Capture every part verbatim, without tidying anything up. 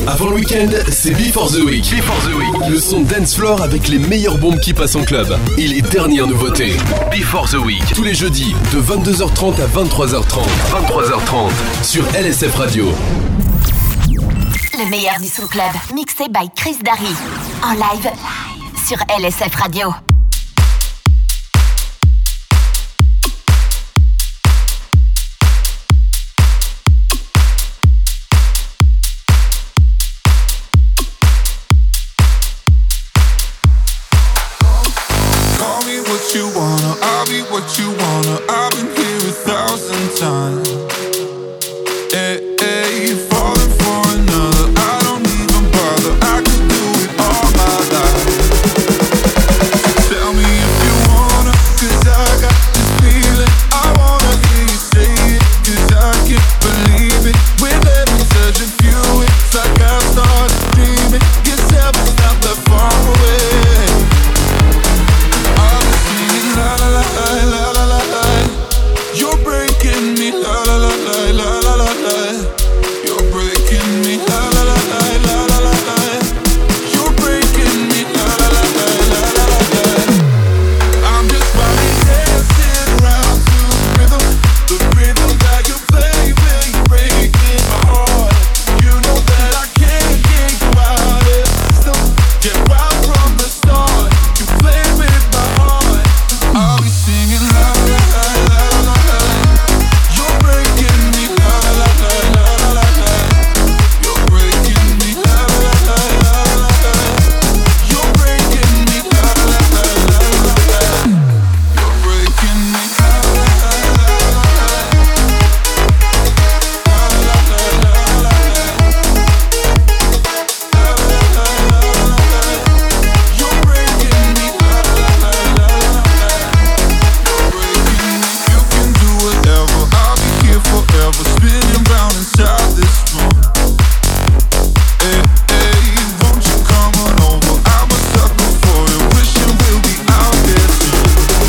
Avant le week-end, c'est Before the Week. Before the Week. Le son dance floor avec les meilleures bombes qui passent en club et les dernières nouveautés. Before the Week. Tous les jeudis de vingt-deux heures trente à vingt-trois heures trente. vingt-trois heures trente sur L S F Radio. Le meilleur du son club, mixé by Chris Darry. En live sur L S F Radio. You wanna, I'll be what you wanna. I've been here a thousand times. Hey, hey, falling for another. I don't even bother. I could do it all my life. Tell me if you wanna, 'cause I got this feeling. I wanna hear you say it, 'cause I can't believe it. With every touch of you, it's like I started dreaming. Guess heaven's not that far away. La la la la la la la. You're breaking me. La la la la la la la la. You're breaking me. La la la la la la la la. You're breaking me. La la la la la la la. I'm just running, dancing around to the rhythm, the rhythm that you play when you're breaking my heart. You know that I can't get you out of the system. Get right from the start. You play with my heart. I'll be singing la la la la la la. You're breaking me la la la la la la la. You're breaking me la la la la la la. You're breaking me la la la la la la. You're breaking me la la la la la la. La la la la la la. La la la la la. You're breaking me la la la la la. You can do whatever, I'll be here forever, spinning round inside this room. Hey, hey, won't you come on over? I'm a sucker for you, wishing we'll be out there soon.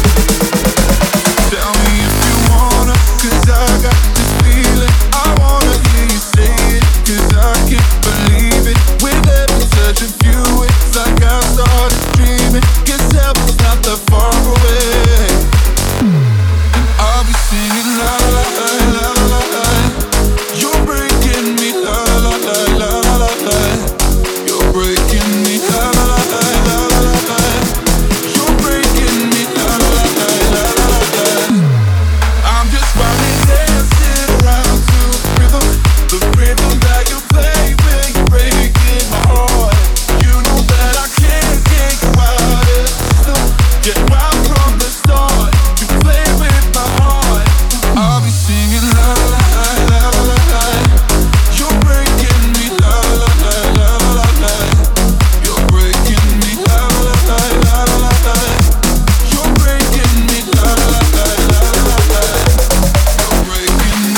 Tell me if you wanna, 'cause I got this feeling. I wanna hear you say it, 'cause I can't believe it. With every touch of you, it's like I started dreaming. Guess heaven's not that far away. I'll be singing la la la la la la. You're breaking me la la la la la la. You're breaking me la la la la la la. You're breaking me la la la la la la. I'm just running, dancing around to the rhythm, the rhythm that you play when you're breaking my heart. You know that I can't get you out of the system. Get right from the start. You play with my heart. I'll be singing la la la la la la. You're breaking me la la la la la la. You're breaking me la la la la la la. You're breaking me la la la la la la. You're breaking me.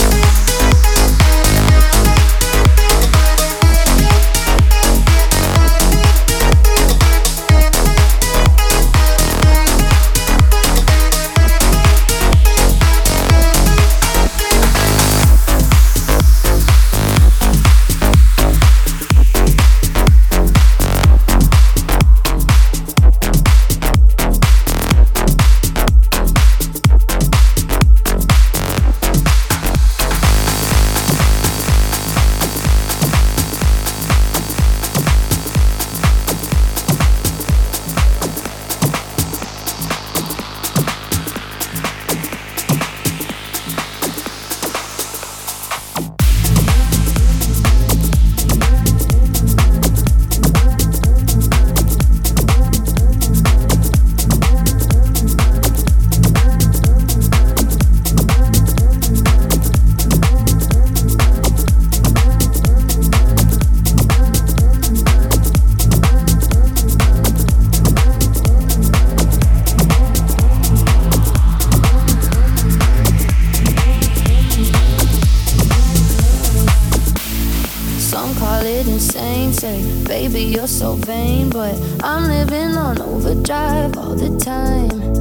Baby, you're so vain, but I'm living on overdrive all the time.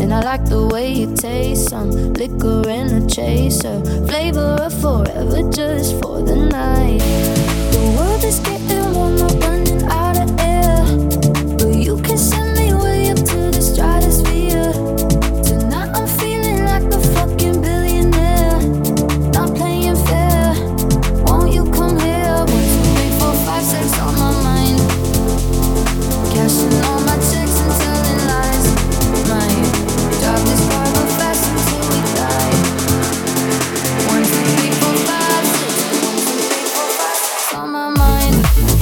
And I like the way you taste, some liquor and a chaser, flavor of forever just for the night. The world is getting warmer, running out of air, but you can send me way up to the stratosphere. Tonight I'm feeling like a fucking billionaire, not playing fair. Won't you come here? One, two, three, four, five, six on my mind, cashing all my checks and telling lies. Mine, drive this car real fast until we die. One, two, three, four, five, six. One, two, three, four, five, six on my mind.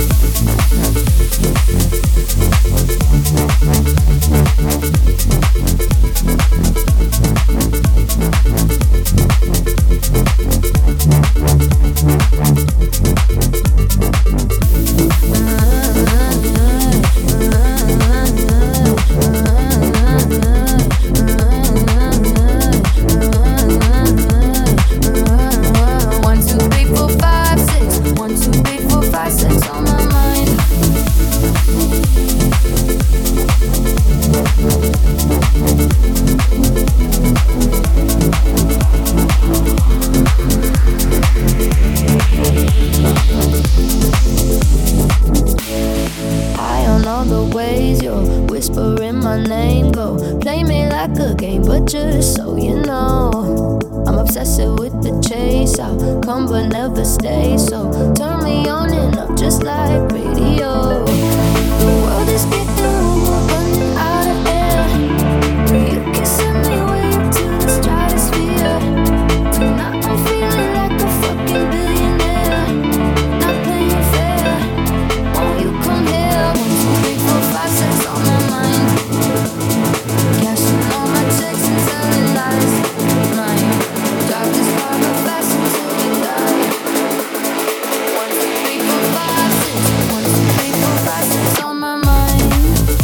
One, two, three, four, five, six. One, two, three, four, five, six on my mind. High on all the ways you're whispering my name, go play me like a game, but just so you know, I'm obsessive with the chase. I'll come but never stay, so turn me on and up just like radio. The world is getting warmer, running out of air, but you can send me way up to the stratosphere. Tonight I'm feeling like a fucking billionaire, not playing fair. Won't you come here? One, two, three, four, five, six on my mind, cashing all my checks and telling lies. Mine, drive this car real fast until we die. One, two, three, four, five, six. One, two, three, four, five, six on my mind.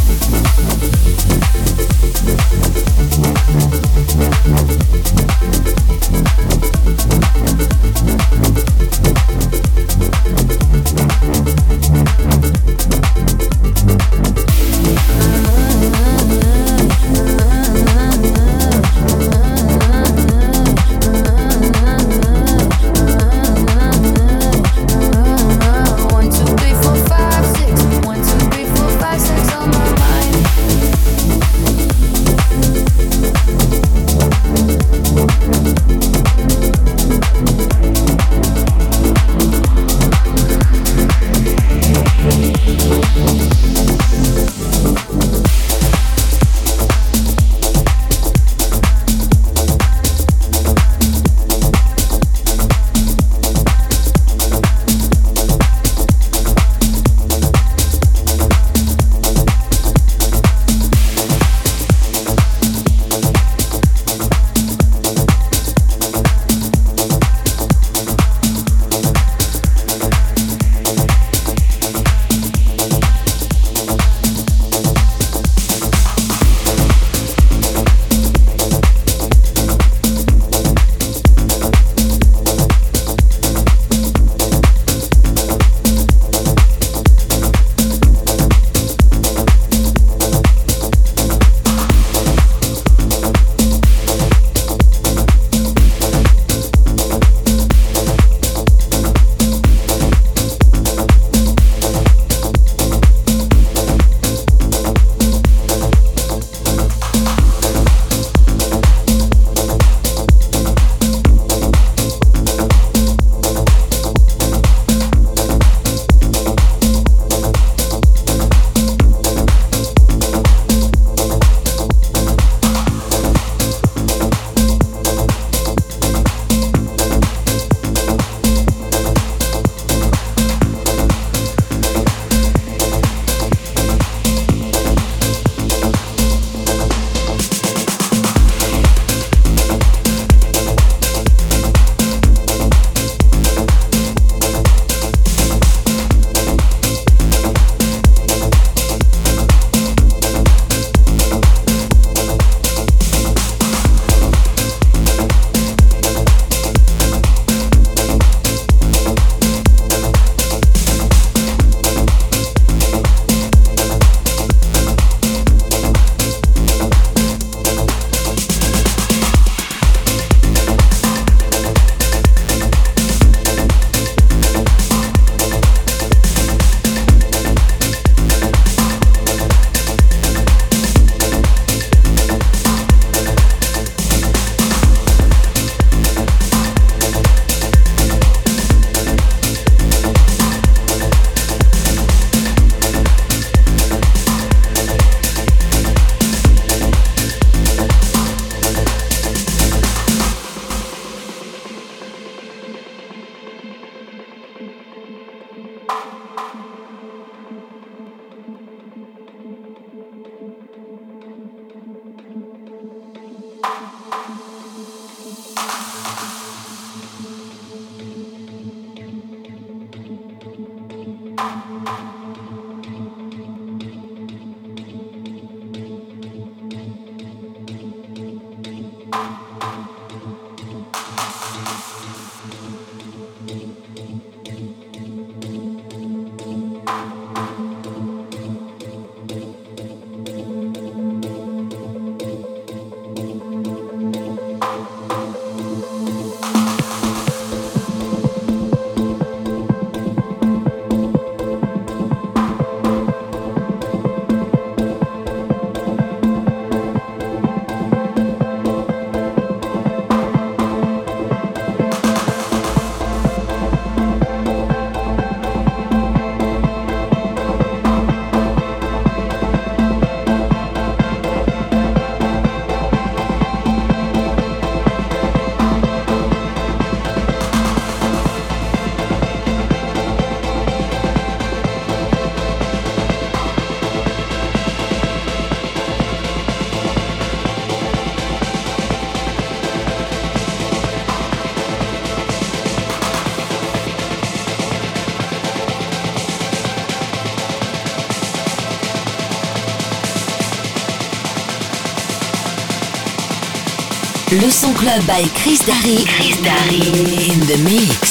Le son club by Chris Darry. Chris Darry in the mix.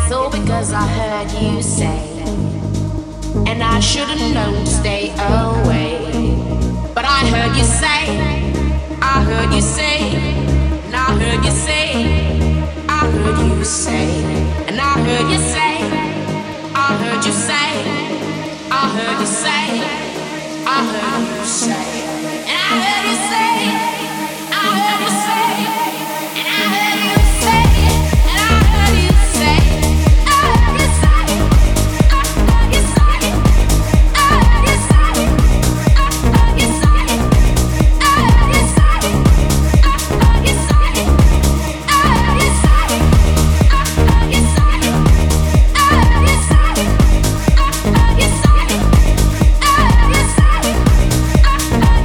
It's all because I heard you say, and I should've known to stay away. But I heard you say, I heard you say, and I heard you say, I heard you say, and I heard you say, I heard you say, I heard you say, I heard you say, and I heard you say, I heard you say, and I heard you say, and I heard you say, I heard you say, I heard you say, I heard you say, I heard you say, I heard you say, I heard you say, I heard you say, I heard you say, I heard you say, I heard you say, I heard you say, I heard you say.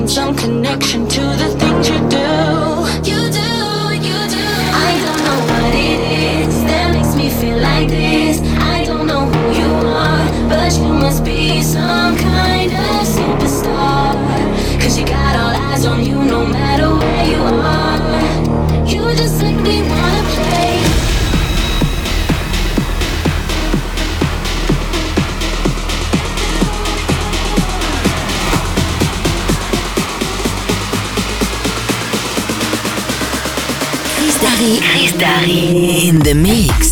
some connection to the things you do. You do, you do. I don't know what it is that makes me feel like this. I don't know who you are, but you must be some kind of superstar. Cause you got all eyes on you no matter where you are. You just make me wanna play. Chris Darry in the mix.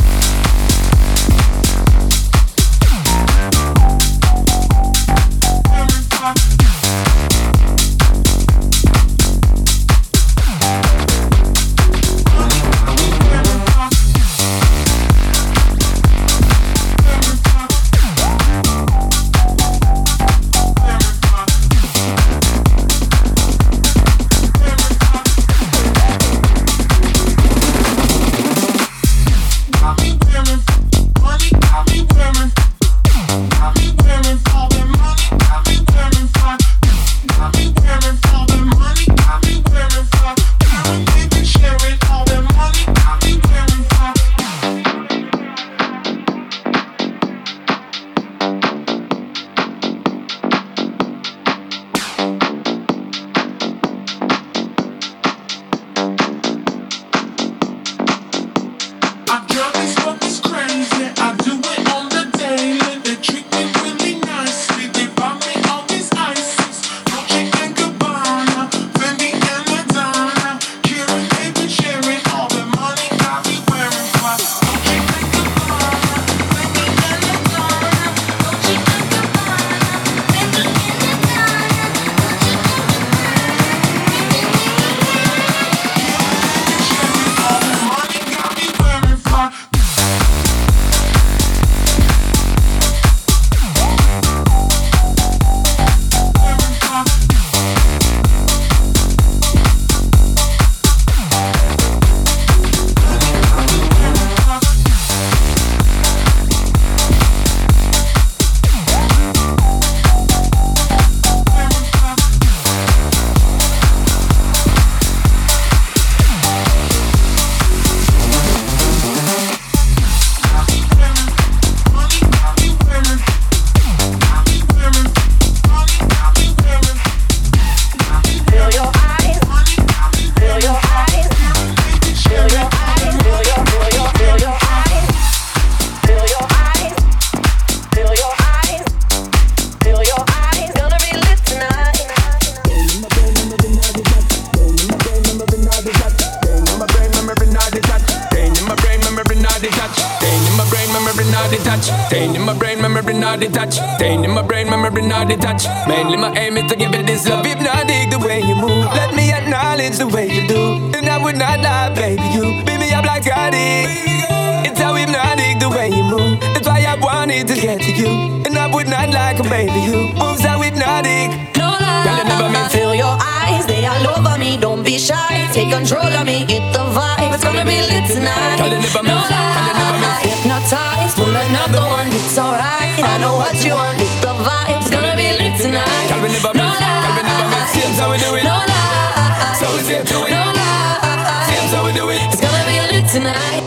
not detached. Staying in my brain, memory not detached. Staying in my brain, memory not detached. Mainly my aim is to give it this love. Hypnotic the way you move, let me acknowledge the way you do. And I would not lie, baby, you beat me up like Gotti. It's how hypnotic the way you move. That's why I wanted to get to you. And I would not like a baby, you moves how hypnotic. No lie, girl, you never mean. Feel your eyes, they all over me. Don't be shy, take control of me. Get the vibe, it's gonna be lit tonight. Girl, you never no miss. lie, hypnotized, pull another one. It's alright, I know what you want. Get the vibe, it's gonna be lit tonight. Girl, we never no miss. lie, Girl, we never miss. Same how we do it. no lie, so we say do it. no lie, same how we do it. It's gonna be lit tonight.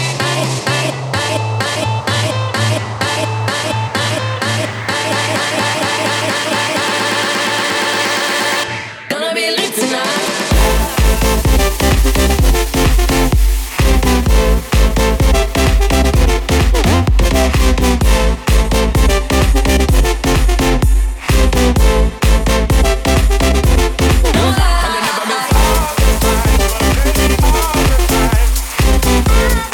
Gonna be lit tonight. All the time, all the time.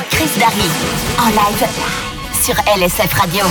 Chris Darry. En live sur L S F Radio.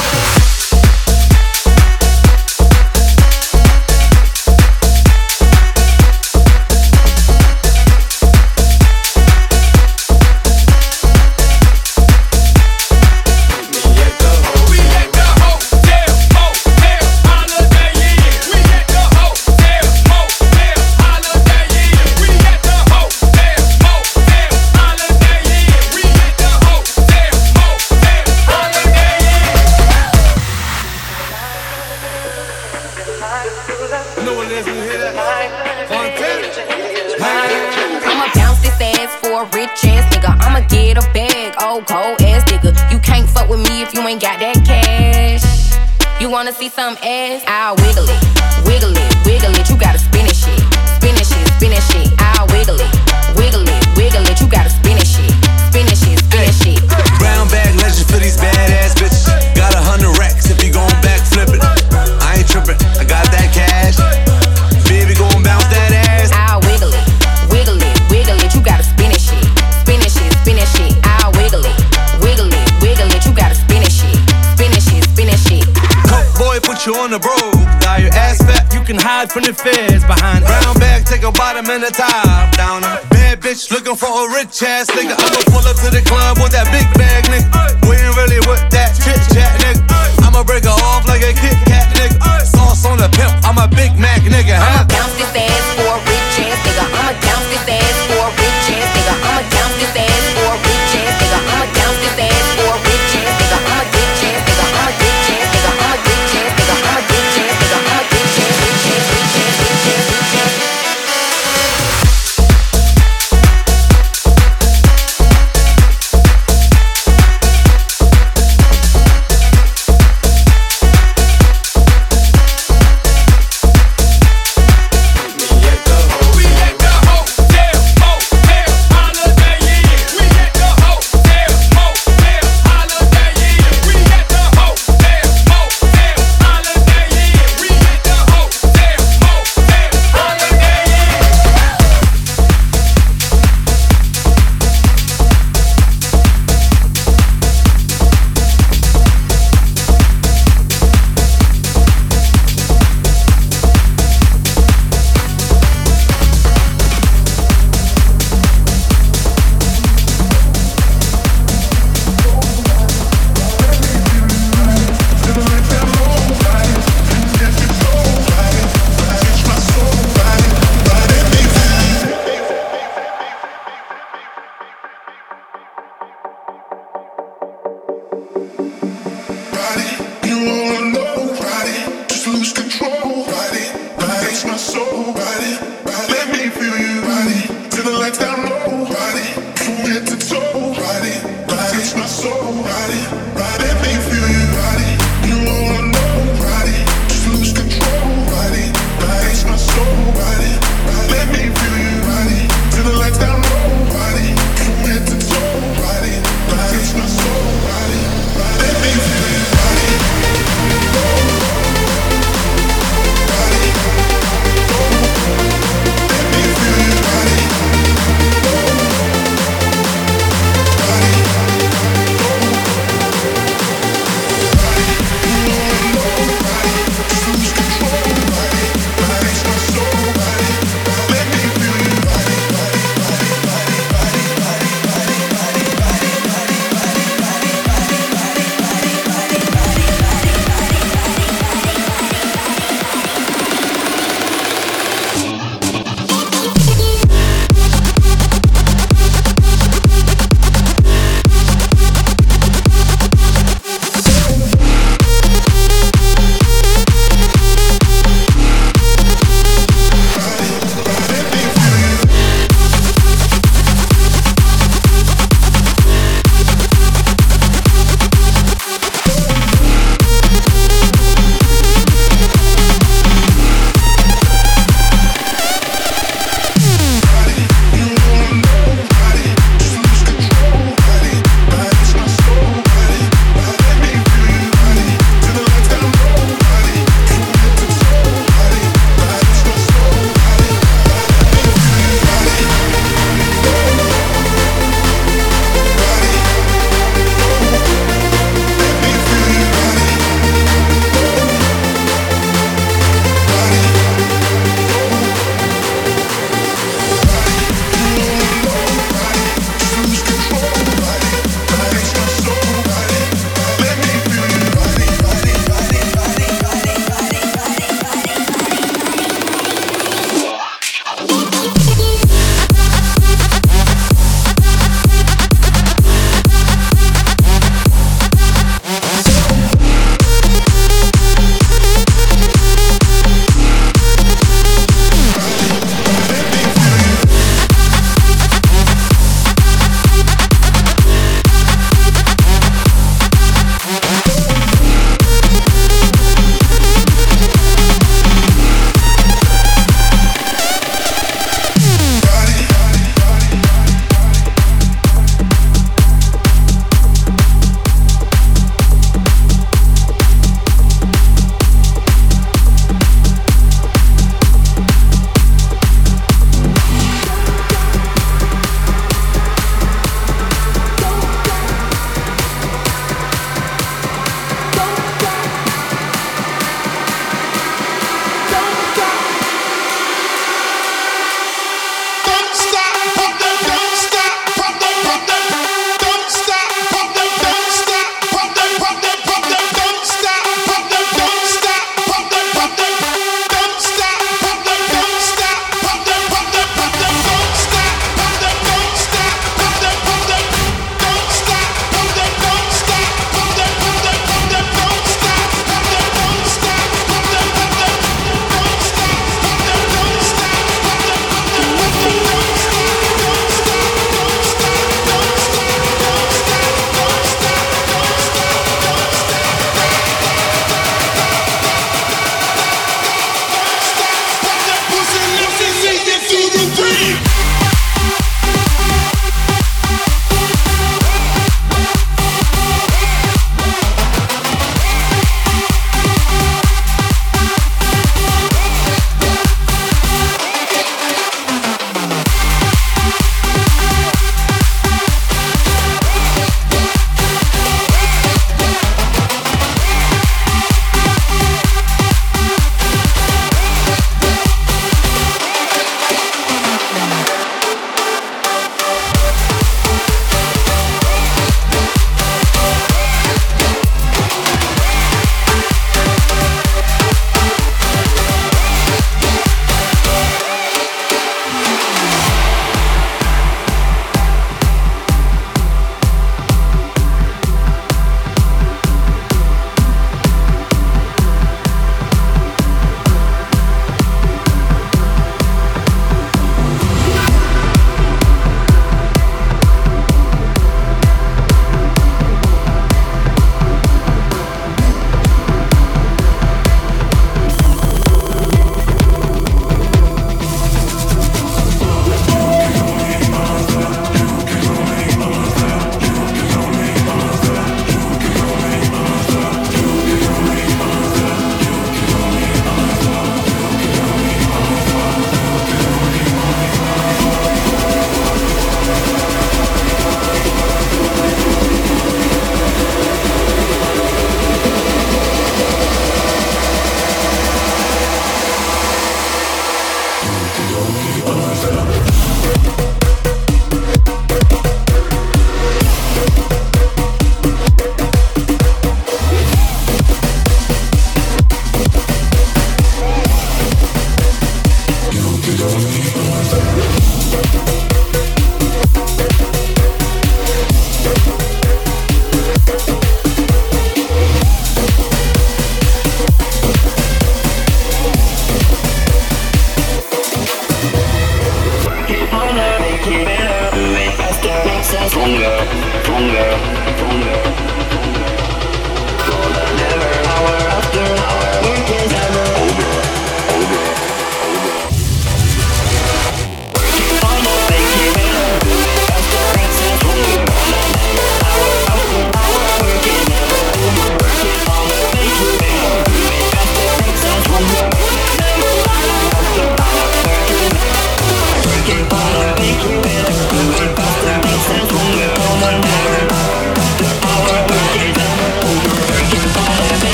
Wanna see some ass? I'll wiggle it, wiggle it, wiggle it. You gotta spin it shit, spin it shit, spin it shit. I'll wiggle it, wiggle it, wiggle it. You gotta spin it shit, spin it shit, spin it shit. Brown bag legend for these badass bitches. Got a hundred racks if you gon' back flip it. I ain't trippin', I got that cash. Baby gon' bounce that ass. I'll wiggle it, wiggle it, wiggle it. You gotta spin it shit, spin it shit, spin it shit. I'll wiggle it, wiggle it, wiggle it. You gotta spin it shit, spin it shit, spin it shit. Boy, put you on the road. Got your ass fat, you can hide from the feds. Behind brown bag, take a bottom and a top down. Bad bitch looking for a rich ass nigga. I'ma pull up to the club with that big bag, nigga. We ain't really with that chit chat, nigga. I'ma break her off like a Kit Kat, nigga. Sauce on the pimp, I'm a Big Mac, nigga. Huh? I'ma bounce this ass for a rich ass nigga. I'ma bounce this ass for a rich ass nigga. I'ma bounce this ass for a rich ass nigga. I'ma bounce this ass for a rich ass nigga. I'm a rich ass nigga. I'm a rich ass nigga. I'm a rich ass nigga. I'm a rich ass nigga. I'm a rich ass, rich ass, rich ass, rich ass, rich ass.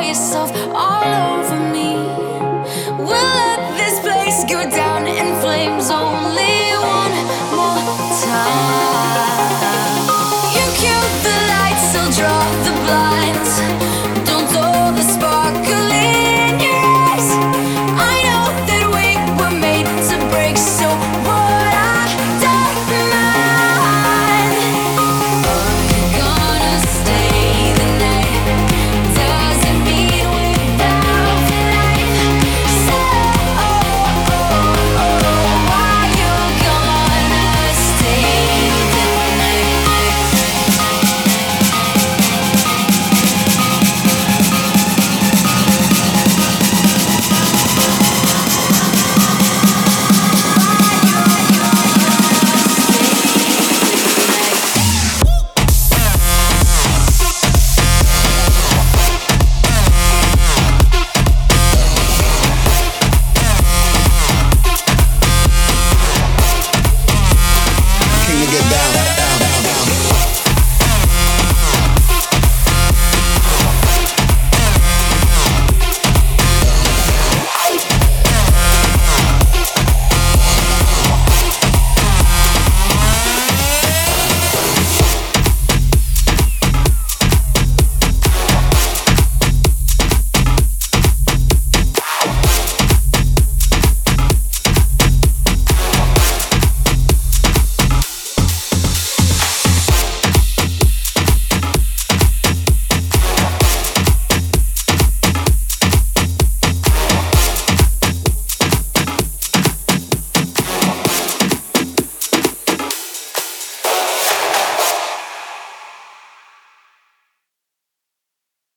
yourself all over